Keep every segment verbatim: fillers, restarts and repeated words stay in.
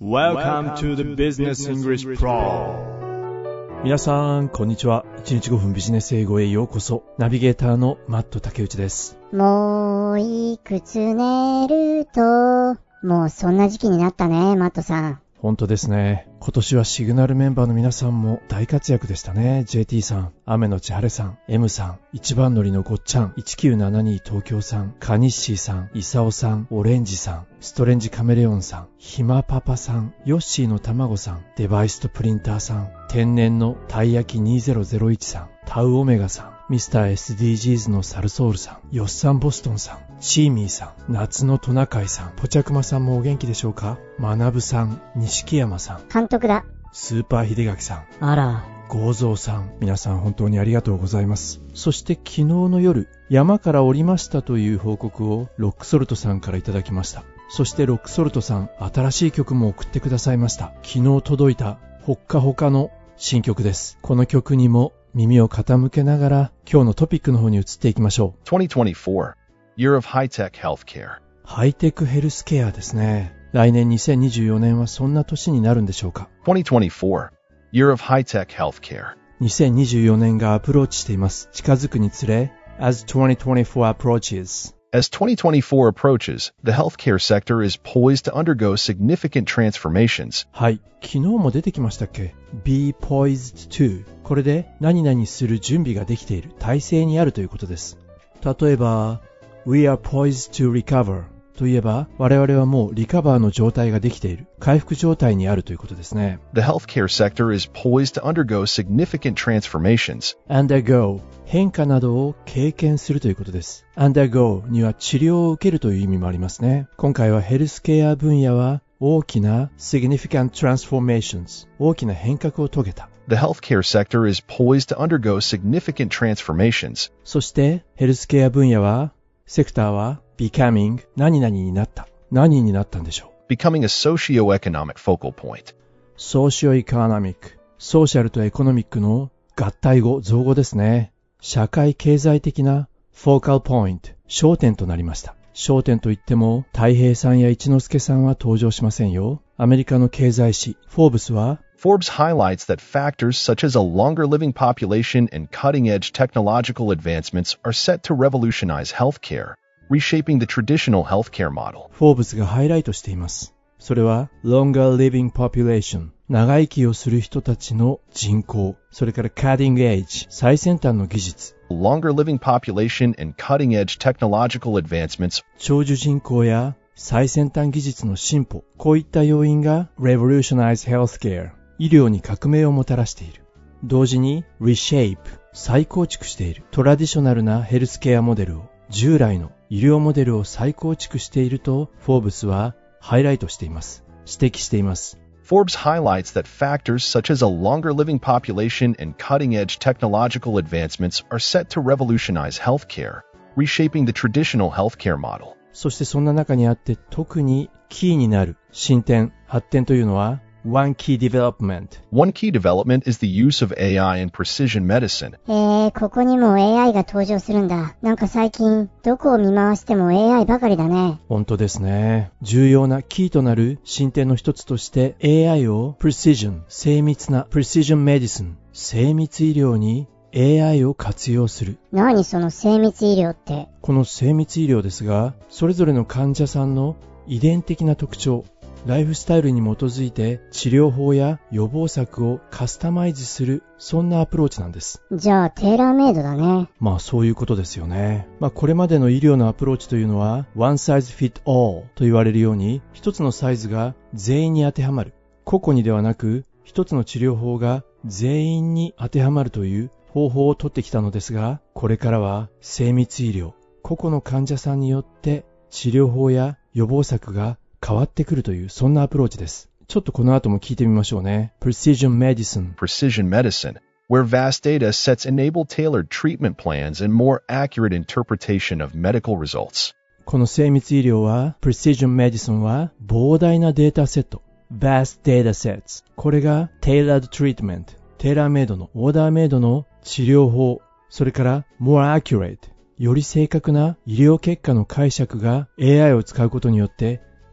Welcome to the Business English Pro。 皆さんこんにちは。いちにちごふんビジネス英語へようこそ。ナビゲーターのマット竹内です。 もういくつ寝ると、もうそんな時期になったね、マットさん。 本当ですね。今年はシグナルメンバーの皆さんも大活躍でしたね。 ジェーティー さん、雨のち晴れさん、 M さん、一番乗りのごっちゃん、いちきゅうななに東京さん、カニッシーさん、イサオさん、オレンジさん、ストレンジカメレオンさん、ひまパパさん、ヨッシーのたまごさん、デバイスとプリンターさん、天然のたい焼きにせんいちさん、タウオメガさん、ミスター エスディージーズ のサルソールさん、ヨッサンボストンさん、チーミーさん、夏のトナカイさん、ポチャクマさんもお元気でしょうか。マナブさん、錦山さん、 監督だ。 スーパー秀垣さん、 あら、 ゴーゾーさん、皆さん本当にありがとうございます。そして昨日の夜、山から降りましたという報告をロックソルトさんからいただきました。そしてロックソルトさん、新しい曲も送ってくださいました。昨日届いたほっかほかの新曲です。この曲にも耳を傾けながら今日のトピックの方に移っていきましょう。 にせんにじゅうよん Year of High-Tech Healthcare。 ハイテクヘルスケアですね。来年にせんにじゅうよねんはそんな年になるんでしょうか。 にせんにじゅうよん Year of High-Tech Healthcare。 にせんにじゅうよねんがアプローチしています。近づくにつれ As にせんにじゅうよん approaches As にせんにじゅうよん approaches, the healthcare sector is poised to undergo significant transformations. はい、昨日も出てきましたっけ。 Be poised to、 これで何々する準備ができている、体制にあるということです。例えば We are poised to recover といえば、我々はもうリカバーの状態ができている、回復状態にあるということですね。 The healthcare sector is poised to undergo significant transformations. Undergo、 変化などを経験するということです。 Undergo には治療を受けるという意味もありますね。今回はヘルスケア分野は大きな significant transformations、 大きな変革を遂げた。 The healthcare sector is poised to undergo significant transformations. そしてヘルスケア分野は、セクターは becoming 何々になった。何になったんでしょう。 Becoming a socio-economic focal point. ソーシオエコノミック、ソーシャルとエコノミックの合体語、造語ですね。社会経済的なフォーカルポイント、焦点となりました。焦点といっても太平さんや一之輔さんは登場しませんよ。アメリカの経済誌フォーブスは、 Forbes highlights that factors such as a longer living population and cutting-edge technological advancements are set to revolutionize healthcare, reshaping the traditional healthcare model. フォーブスがハイライトしています。それは longer living population、 長生きをする人たちの人口、それから cutting edge、 最先端の技術、 Longer living population and cutting-edge technological advancements、 長寿人口や最先端技術の進歩、こういった要因が revolutionize healthcare、 医療に革命をもたらしている。同時に reshape、 再構築している。トラディショナルなヘルスケアモデルを、従来の医療モデルを再構築しているとフォーブスはハイライトしています。指摘しています。 Forbes highlights that factors such as a longer living population and cutting-edge technological advancements are set to revolutionize healthcare, reshaping the traditional healthcare model. そしてそんな中にあって特にキーになる進展、発展というのは One key development. One key development is the use of A I in precision medicine. えー、ここにも エーアイ が登場するんだ。なんか最近どこを見回しても エーアイ ばかりだね。 本当ですね。重要なキーとなる進展の一つとして エーアイ を precision、 精密な precision medicine、 精密医療に エーアイ を活用する。 何その精密医療って。 この精密医療ですが、それぞれの患者さんの遺伝的な特徴、ライフスタイルに基づいて治療法や予防策をカスタマイズする、そんなアプローチなんです。 じゃあテーラーメイドだね。 まあそういうことですよね。まあこれまでの医療のアプローチというのは One size fit all と言われるように、一つのサイズが全員に当てはまる、個々にではなく一つの治療法が全員に当てはまるという方法をとってきたのですが、これからは精密医療、個々の患者さんによって治療法や予防策が変わってくるという、そんなアプローチです。ちょっとこの後も聞いてみましょうね。 Precision Medicine Precision medicine, where vast data sets enable tailored treatment plans and more accurate interpretation of medical results. この精密医療は Precision Medicine は膨大なデータセット、 Vast data sets、 これが Tailored Treatment、 テーラーメイドのオーダーメイドの治療法、それから More accurate、 より正確な医療結果の解釈が エーアイ を使うことによって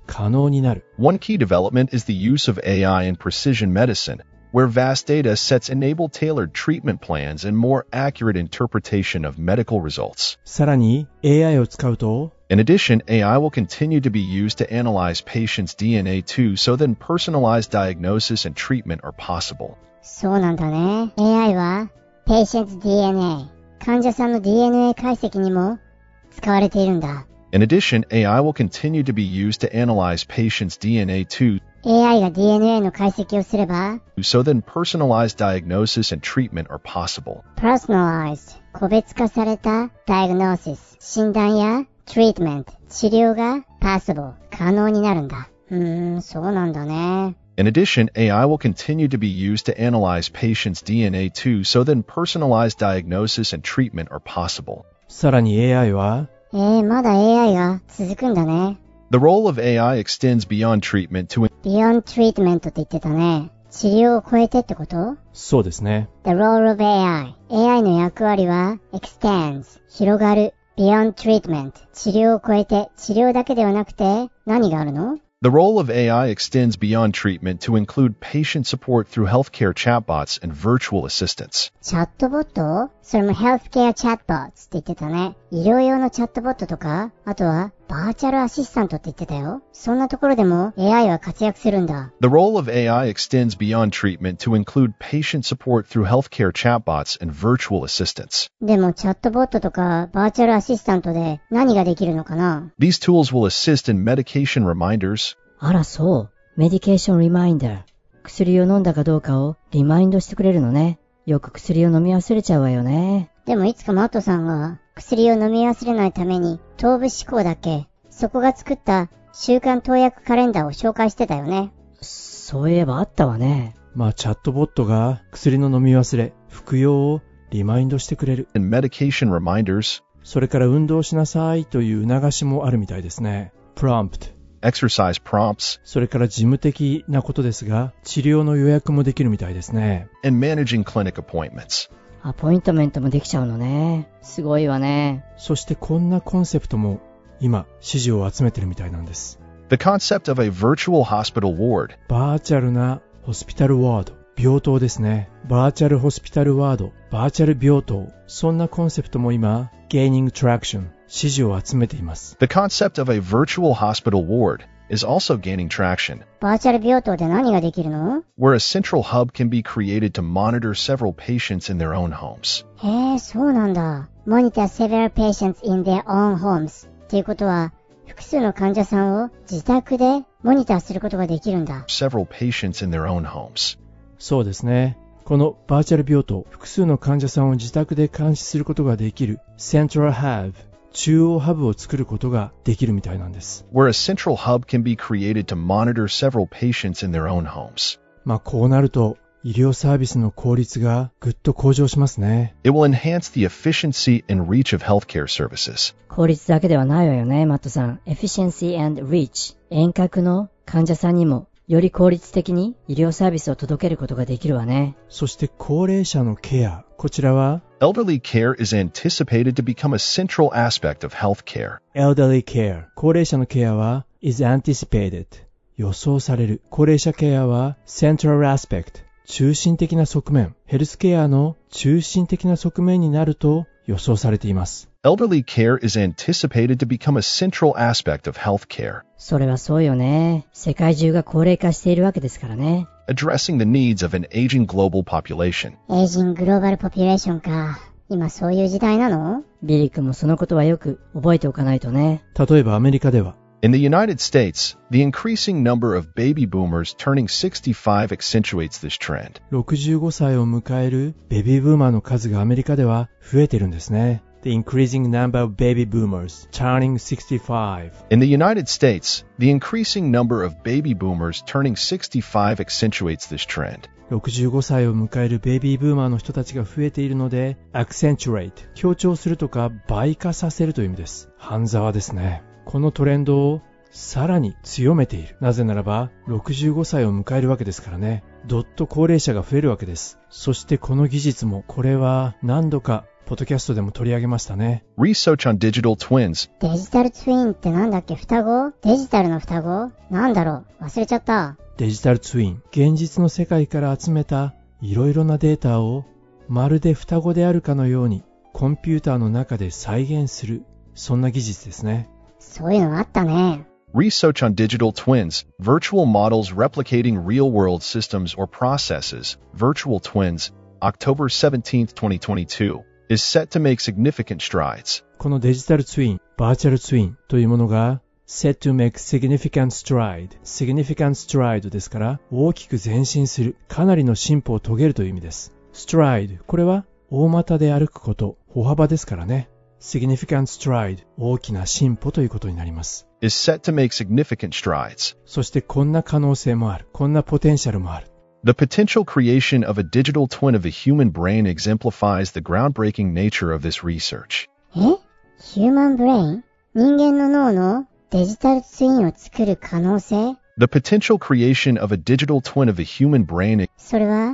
可能になる。 One key development is the use of A I in precision medicine, where vast data sets enable tailored treatment plans and more accurate interpretation of medical results. さらに エーアイ を使うと、 In addition, A I will continue to be used to analyze patients' D N A too, so then personalized diagnosis and treatment are possible. そうなんだね。エーアイ は Patient's ディーエヌエー、患者さんの ディーエヌエー 解析にも使われているんだ。 In addition, A I will continue to be used to analyze patients' D N A too, エーアイ が ディーエヌエー の解析をすれば、 so then personalized diagnosis and treatment are possible. Personalized、個別化された Diagnosis、診断や Treatment、治療が Possible、可能になるんだ。うーん、そうなんだね。 In addition, A I will continue to be used to analyze patients' D N A too, so then personalized diagnosis and treatment are possible. さらに エーアイ は、 えー、まだ エーアイ が続くんだね。 The role of A I extends beyond treatment to Beyond Treatment って言ってたね。治療を超えてってこと？ そうですね。 The role of エーアイ。エーアイ の役割は extends、広がる。Beyond Treatment、治療を超えて、治療だけではなくて何があるの？ The role of A I extends beyond treatment to include patient support through healthcare chatbots and virtual assistants. チャットボット？それも Healthcare Chatbots って言ってたね。医療用のチャットボットとか、あとはバーチャルアシスタントって言ってたよ。そんなところでも エーアイ は活躍するんだ。 The role of A I extends beyond treatment to include patient support through healthcare chatbots and virtual assistants. でもチャットボットとかバーチャルアシスタントで何ができるのかな？ These tools will assist in medication reminders, あらそう。メディケーションリマインダー。薬を飲んだかどうかをリマインドしてくれるのね。よく薬を飲み忘れちゃうわよね。 でもいつかマットさんが薬を飲み忘れないために頭部思考だっけ？そこが作った週刊投薬カレンダーを紹介してたよね。 そういえばあったわね。 まあチャットボットが薬の飲み忘れ、服用をリマインドしてくれる。 and medication reminders, それから運動しなさいという促しもあるみたいですね。prompt。 exercise prompts, それから事務的なことですが、治療の予約もできるみたいですね。 and managing clinic appointments. アポイントメントもできちゃうのね。すごいわね。 そしてこんなコンセプトも今支持を集めてるみたいなんです。 The concept of a virtual hospital ward, バーチャルなホスピタルワード、病棟ですね。バーチャルホスピタルワード、バーチャル病棟、そんなコンセプトも今 gaining traction、支持を集めています。 the concept of a virtual hospital ward is also gaining traction, バーチャル病棟で何ができるの？ where a central hub can be created to monitor several patients in their own homes. へえ、そうなんだ。Monitor several patients in their own homes っていうことは、複数の患者さんを自宅でモニターすることができるんだ。 Several patients in their own homes. そうですね。このバーチャル病棟、複数の患者さんを自宅で監視することができる Central Hub、中央ハブを作ることができるみたいなんです。 Where a central hub can be created to monitor several patients in their own homes. まあこうなると医療サービスの効率がぐっと向上しますね。 It will enhance the efficiency and reach of healthcare services. 効率だけではないわよね、マットさん。Efficiency and reach。遠隔の患者さんにもより効率的に医療サービスを届けることができるわね。 そして高齢者のケア、こちらは Elderly care is anticipated to become a central aspect of healthcare. Elderly care、高齢者のケアは is anticipated、予想される。高齢者ケアは central aspect、中心的な側面、ヘルスケアの中心的な側面になると予想されています。 Elderly care is anticipated to become a central aspect of healthcare, それはそうよね。世界中が高齢化しているわけですからね。 addressing the needs of an aging global population. エイジングローバルポピュレーションか。今そういう時代なの？ ビリー君もそのことはよく覚えておかないとね。 例えばアメリカでは In the United States, the increasing number of baby boomers turning sixty-five accentuates this trend. ろくじゅうごさいを迎えるベビーブーマーの数がアメリカでは増えてるんですね。The increasing number of baby boomers turning sixty-five. In the United States, the increasing number of baby boomers turning sixty-five accentuates this trend. ろくじゅうごさいを迎えるベビーブーマーの人たちが増えているので accentuate、強調するとか倍化させるという意味です。半沢ですね。このトレンドをさらに強めている。なぜならばろくじゅうごさいを迎えるわけですからね。どっと高齢者が増えるわけです。そしてこの技術もこれは何度かポッドキャストでも取り上げましたね。 Research on digital twins. デジタルツインってなんだっけ？双子？デジタルの双子？なんだろう？忘れちゃった。 デジタルツイン、現実の世界から集めたいろいろなデータをまるで双子であるかのようにコンピューターの中で再現する、そんな技術ですね。 そういうのあったね。 Research on digital twins, virtual models replicating real-world systems or processes, virtual twins, October seventeenth, twenty twenty-two, is set to make significant strides. このデジタルツイン、バーチャルツインというものが set to make significant stride, significant stride ですから大きく前進する、かなりの進歩を遂げるという意味です。stride、これは大股で歩くこと、歩幅ですからね。significant stride、大きな進歩ということになります。 is set to make significant strides. そしてこんな可能性もある。こんなポテンシャルもある。 The potential creation of a digital twin of a human brain exemplifies the groundbreaking nature of this research. え？ヒューマンブレイン？人間の脳のデジタルツインを作る可能性？ The potential creation of a digital twin of a human brain. それは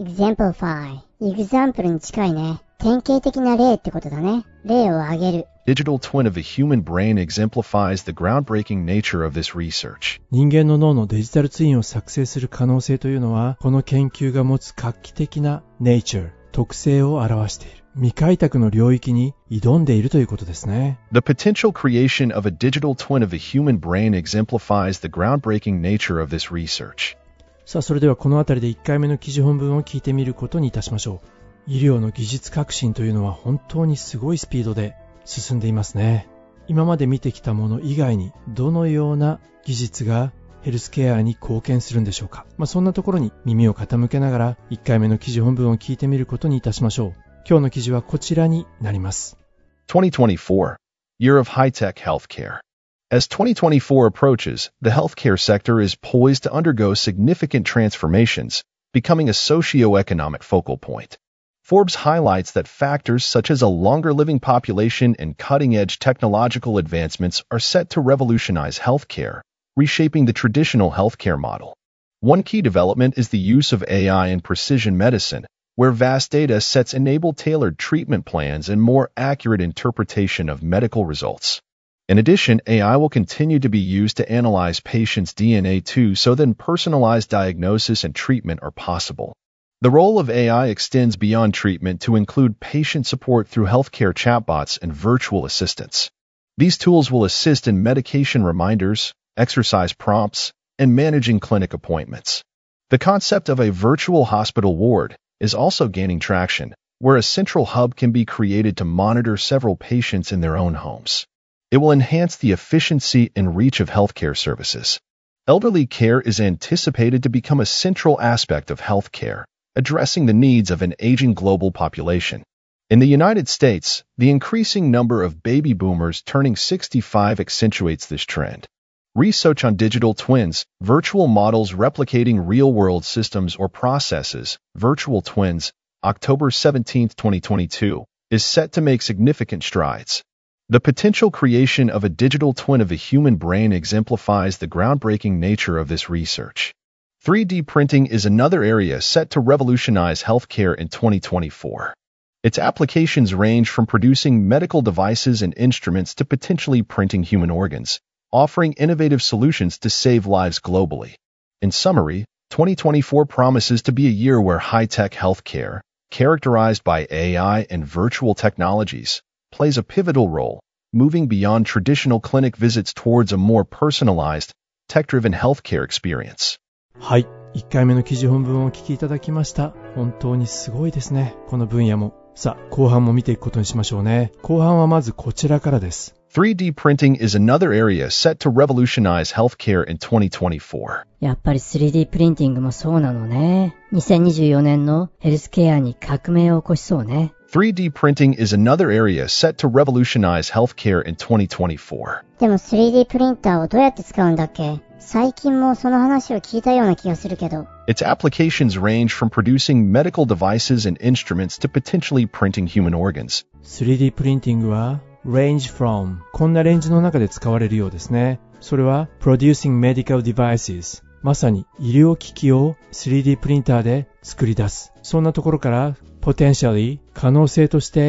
exemplify、example に近いね。典型的な例ってことだね。例を挙げる。 Digital twin of a human brain exemplifies the groundbreaking nature of this research. 人間の脳のデジタルツインを作成する可能性というのは、この研究が持つ画期的な nature、特性を表している。未開拓の領域に挑んでいるということですね。 The potential creation of a digital twin of a human brain exemplifies the groundbreaking nature of this research. さあ、それではこのあたりでいっかいめの記事本文を聞いてみることにいたしましょう。医療の技術革新というのは本当にすごいスピードで進んでいますね。今まで見てきたもの以外にどのような技術がヘルスケアに貢献するんでしょうか。まあ、そんなところに耳を傾けながらいっかいめの記事本文を聞いてみることにいたしましょう。今日の記事はこちらになります。 twenty twenty-four, Year of High-Tech Healthcare. As twenty twenty-four approaches, the healthcare sector is poised to undergo significant transformations, becoming a socio-economic focal point. Forbes highlights that factors such as a longer living population and cutting-edge technological advancements are set to revolutionize healthcare, reshaping the traditional healthcare model. One key development is the use of A I in precision medicine, where vast data sets enable tailored treatment plans and more accurate interpretation of medical results. In addition, A I will continue to be used to analyze patients' D N A too, so that personalized diagnosis and treatment are possible. The role of A I extends beyond treatment to include patient support through healthcare chatbots and virtual assistants. These tools will assist in medication reminders, exercise prompts, and managing clinic appointments. The concept of a virtual hospital ward is also gaining traction, where a central hub can be created to monitor several patients in their own homes. It will enhance the efficiency and reach of healthcare services. Elderly care is anticipated to become a central aspect of healthcare, addressing the needs of an aging global population. In the United States, the increasing number of baby boomers turning sixty-five accentuates this trend. Research on digital twins, virtual models replicating real-world systems or processes, virtual twins, October seventeenth, twenty twenty-two, is set to make significant strides. The potential creation of a digital twin of a human brain exemplifies the groundbreaking nature of this research. three D printing is another area set to revolutionize healthcare in twenty twenty-four. Its applications range from producing medical devices and instruments to potentially printing human organs, offering innovative solutions to save lives globally. In summary, twenty twenty-four promises to be a year where high-tech healthcare, characterized by A I and virtual technologies, plays a pivotal role, moving beyond traditional clinic visits towards a more personalized, tech-driven healthcare experience. はい。いっかいめの記事本文をお聞きいただきました。本当にすごいですね。この分野も。さあ、後半も見ていくことにしましょうね。後半はまずこちらからです。 three D printing is another area set to revolutionize healthcare in twenty twenty-four. やっぱり スリーディー プリンティングもそうなのね。にせんにじゅうよねんのヘルスケアに革命を起こしそうね。 three D printing is another area set to revolutionize healthcare in twenty twenty-four. でも スリーディー プリンターをどうやって使うんだっけ？最近もその話を聞いたような気がするけど。 Its applications range from producing medical devices and instruments to potentially printing human organs. スリーディー プリンティングは range from こんなレンジの中で使われるようですね。それは producing medical devices まさに医療機器を スリーディー プリンターで作り出す。そんなところから potentially 可能性として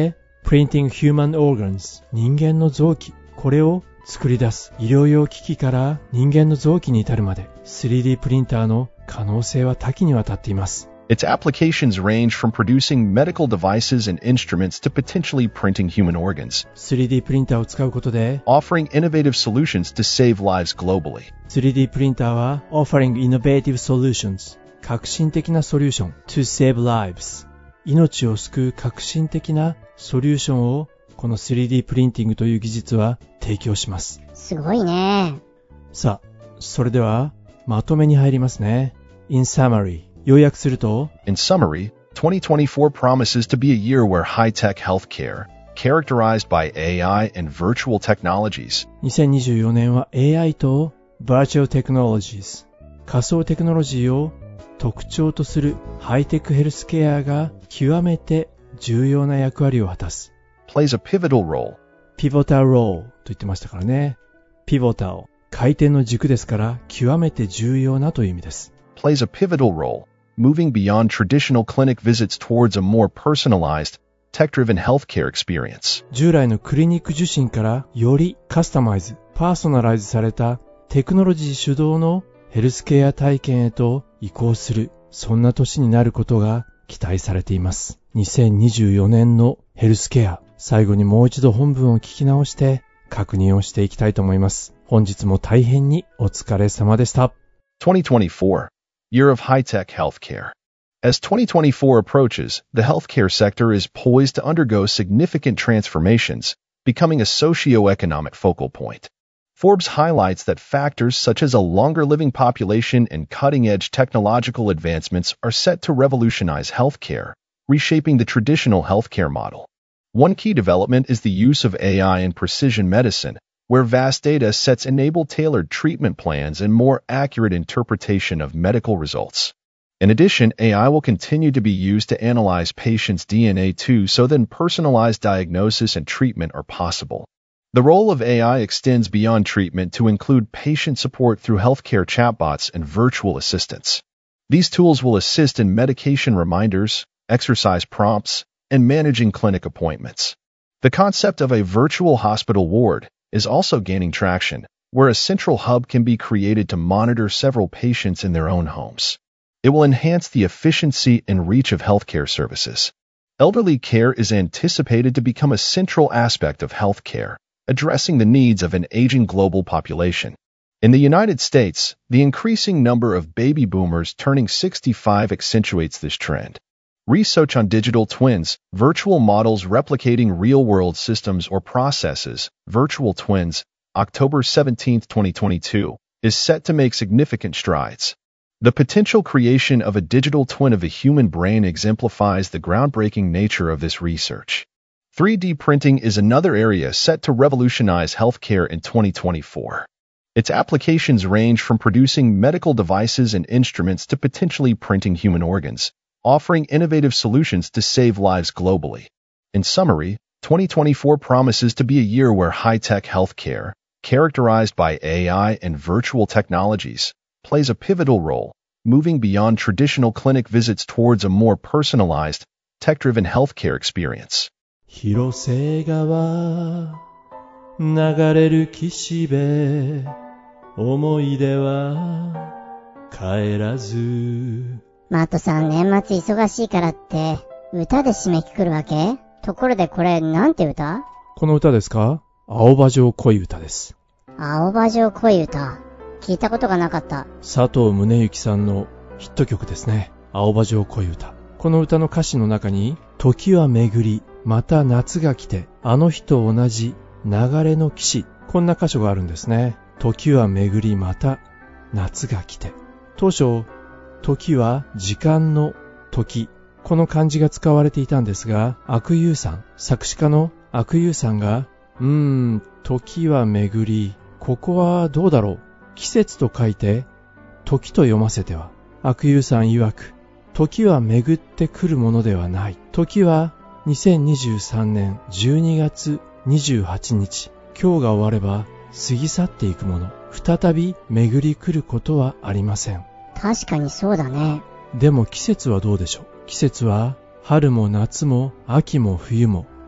printing human organs 人間の臓器、これを作り出す医療用機器から人間の臓器に至るまで スリーディー プリンターの可能性は多岐にわたっています。 Its applications range from producing medical devices and instruments to potentially printing human organs, スリーディー プリンターを使うことで offering innovative solutions to save lives globally. スリーディー プリンターは offering innovative solutions 革新的なソリューション to save lives 命を救う革新的なソリューションをこの スリーディー プリンティングという技術は提供します。 すごいね。 さあ、それではまとめに入りますね。In summary、要約すると In summary, twenty twenty-four promises to be a year where high-tech healthcare, characterized by A I and virtual technologies, にせんにじゅうよねんは エーアイ と Virtual Technologies 仮想テクノロジーを特徴とするハイテクヘルスケアが極めて重要な役割を果たす。 plays a pivotal role. Pivotal role と言ってましたからね。Pivotal 回転の軸ですから極めて重要なという意味です。 plays a pivotal role, moving beyond traditional clinic visits towards a more personalized, tech-driven healthcare experience. 従来のクリニック受診からよりカスタマイズ、パーソナライズされたテクノロジー主導のヘルスケア体験へと移行する、そんな年になることが期待されています。にせんにじゅうよねんのヘルスケア、最後にもう一度本文を聞き直して確認をしていきたいと思います。本日も大変にお疲れ様でした。 twenty twenty-four, Year of High-Tech Healthcare. As twenty twenty-four approaches, the healthcare sector is poised to undergo significant transformations, becoming a socio-economic focal point. Forbes highlights that factors such as a longer living population and cutting-edge technological advancements are set to revolutionize healthcare, reshaping the traditional healthcare model. One key development is the use of A I in precision medicine, where vast data sets enable tailored treatment plans and more accurate interpretation of medical results. In addition, A I will continue to be used to analyze patients' D N A too, so then personalized diagnosis and treatment are possible. The role of A I extends beyond treatment to include patient support through healthcare chatbots and virtual assistants. These tools will assist in medication reminders, exercise prompts, and managing clinic appointments. The concept of a virtual hospital ward is also gaining traction, where a central hub can be created to monitor several patients in their own homes. It will enhance the efficiency and reach of healthcare services. Elderly care is anticipated to become a central aspect of healthcare, addressing the needs of an aging global population. In the United States, the increasing number of baby boomers turning sixty-five accentuates this trend. Research on digital twins, virtual models replicating real-world systems or processes, virtual twins, October seventeenth, twenty twenty-two, is set to make significant strides. The potential creation of a digital twin of a human brain exemplifies the groundbreaking nature of this research. three D printing is another area set to revolutionize healthcare in twenty twenty-four. Its applications range from producing medical devices and instruments to potentially printing human organs, offering innovative solutions to save lives globally. In summary, twenty twenty-four promises to be a year where high-tech healthcare, characterized by A I and virtual technologies, plays a pivotal role, moving beyond traditional clinic visits towards a more personalized, tech-driven healthcare experience. 広瀬川流れる岸辺思い出は帰らず。 マットさん、年末忙しいからって歌で締めくくるわけ？ところでこれなんて歌？ この歌ですか？青葉城恋歌です。 青葉城恋歌、聞いたことがなかった。 佐藤宗行さんのヒット曲ですね。青葉城恋歌。この歌の歌詞の中に、時は巡りまた夏が来て、あの日と同じ流れの岸、こんな箇所があるんですね。時は巡りまた夏が来て。当初、時は時間の時、この漢字が使われていたんですが、阿久悠さん、作詞家の阿久悠さんが、うーん、時は巡り、ここはどうだろう。季節と書いて、時と読ませては。阿久悠さん曰く、時は巡ってくるものではない。時はにせんにじゅうさんねんじゅうにがつにじゅうはちにち、今日が終われば過ぎ去っていくもの。再び巡り来ることはありません。 確かにそうだね。 でも季節はどうでしょう。季節は春も夏も秋も冬も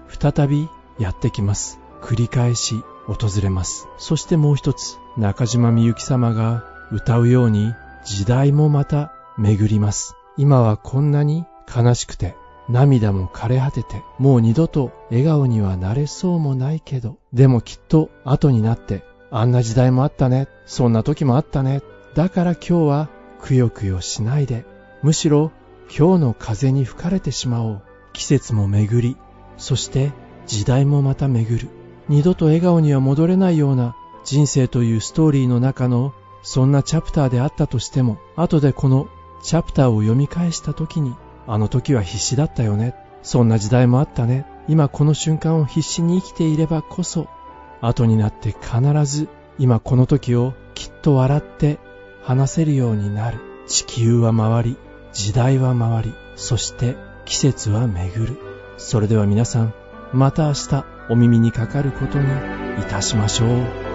再びやってきます。繰り返し訪れます。そしてもう一つ、中島みゆき様が歌うように時代もまた巡ります。今はこんなに悲しくて涙も枯れ果てて、もう二度と笑顔にはなれそうもないけど、でもきっと後になってあんな時代もあったね、そんな時もあったね。だから今日はくよくよしないで、むしろ今日の風に吹かれてしまおう。季節も巡り、そして時代もまた巡る。二度と笑顔には戻れないような人生というストーリーの中のそんなチャプターであったとしても、後でこのチャプターを読み返した時に、あの時は必死だったよね、そんな時代もあったね、今この瞬間を必死に生きていればこそ、後になって必ず今この時をきっと笑って話せるようになる。地球は回り、時代は回り、そして季節は巡る。それでは皆さん、また明日お耳にかかることにいたしましょう。